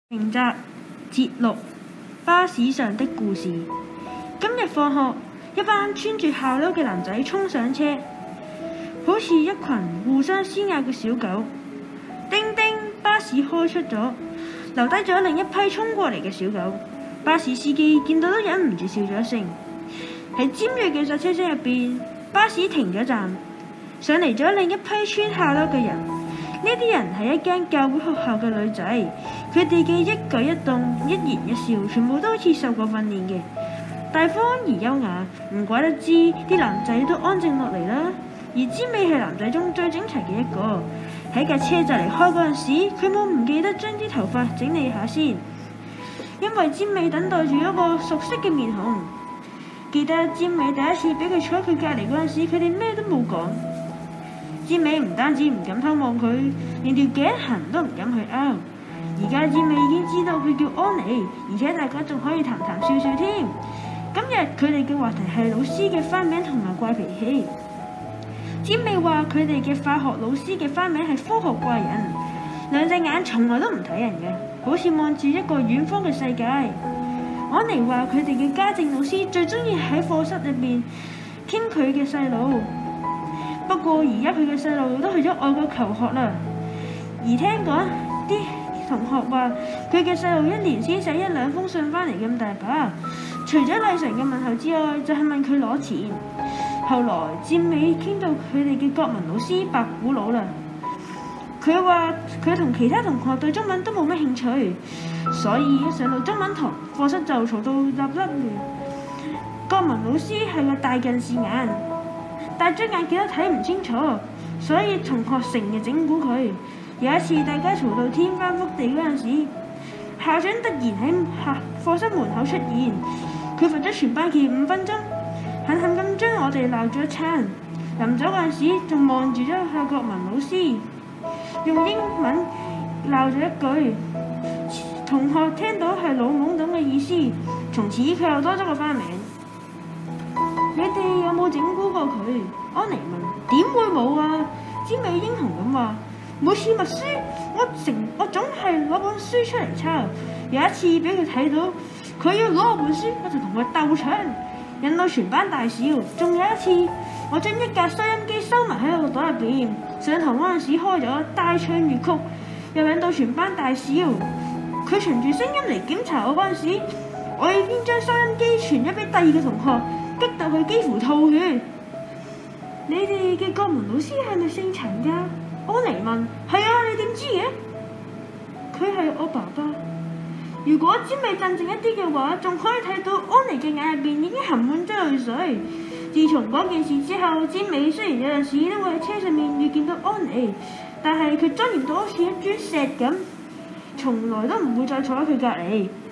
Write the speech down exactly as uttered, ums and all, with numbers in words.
名集節錄巴士上的故事。今日放學，一班穿住校褸嘅男仔衝上車，好似一群互相撕咬嘅小狗。叮叮，巴士開出咗，留低咗另一批衝過嚟嘅小狗。巴士司機見到都忍唔住笑咗一聲。喺尖銳嘅剎車聲入邊，巴士停咗站，上嚟咗另一批穿校褸嘅人。呢啲人係一間教會學校嘅女仔，佢哋嘅一舉一動、一言一笑，全部都好似受過訓練嘅，大方而優雅。唔怪得知啲男仔都安靜落嚟啦。而尖尾係男仔中最整齊嘅一個。喺架車就嚟開嗰陣時，佢冇唔記得將啲頭髮整理下先，因為尖尾等待住一個熟悉嘅面孔。記得尖尾第一次俾佢坐喺佢隔離嗰陣時，佢哋咩都冇講。尖尾唔單止唔敢偷望佢，連條頸痕都唔敢去拗。而家尖尾已經知道佢叫安妮，而且大家仲可以談談笑笑添。今日佢哋嘅話題係老師嘅花名同埋怪脾氣。尖尾話佢哋嘅化學老師嘅花名係科學怪人，兩隻眼從來都唔睇人嘅，好似望住一個遠方嘅世界。安妮話佢哋嘅家政老師最中意喺課室入邊傾佢嘅細路。不過而家佢嘅細路都去咗外國求學啦，而聽講啲同學話佢嘅細路一年先寫一兩封信翻嚟咁大把，除咗禮常嘅問候之外，就係問佢攞錢。後來尖尾傾到佢哋嘅國文老師白古佬啦，佢話佢同其他同學對中文都冇乜興趣，所以一上到中文堂，課室就嘈到立立亂。國文老師係個大近視眼，戴咗眼鏡都睇唔清楚，所以同學成日整蠱佢。有一次大家嘈到天翻覆地嗰陣時，校長突然喺課室門口出現，佢罰咗全班記五分鐘，狠狠咁將我哋鬧咗一餐。臨走嗰陣時仲望住咗個國文老師，用英文鬧咗一句，同學聽到係老懵懂嘅意思，從此佢又多咗個花名。你哋有冇整蠱過佢？安妮問。點會冇啊？尖尾英雄咁話。每次默書，我成我總係攞本書出嚟抄。有一次俾佢睇到，佢要攞我本書，我就同佢鬥搶，引到全班大笑。仲有一次，我將一架收音機收埋喺我個袋入邊，上堂嗰陣時開咗大唱粵曲，又引到全班大笑。佢循住聲音嚟檢查我嗰陣時，我已經將收音機傳咗俾第二個同學。激到佢幾乎吐血。你哋嘅國文老師係咪姓陳㗎？安妮問。係啊，你點知嘅？佢係我爸爸。如果尖尾鎮靜一啲嘅話，仲可以睇到安妮嘅眼入邊已經含滿咗淚水。自從嗰件事之後，尖尾雖然有陣時都會喺車上面遇見到安妮，但係佢莊嚴到好似一磚石咁，從來都唔會再坐喺佢隔離。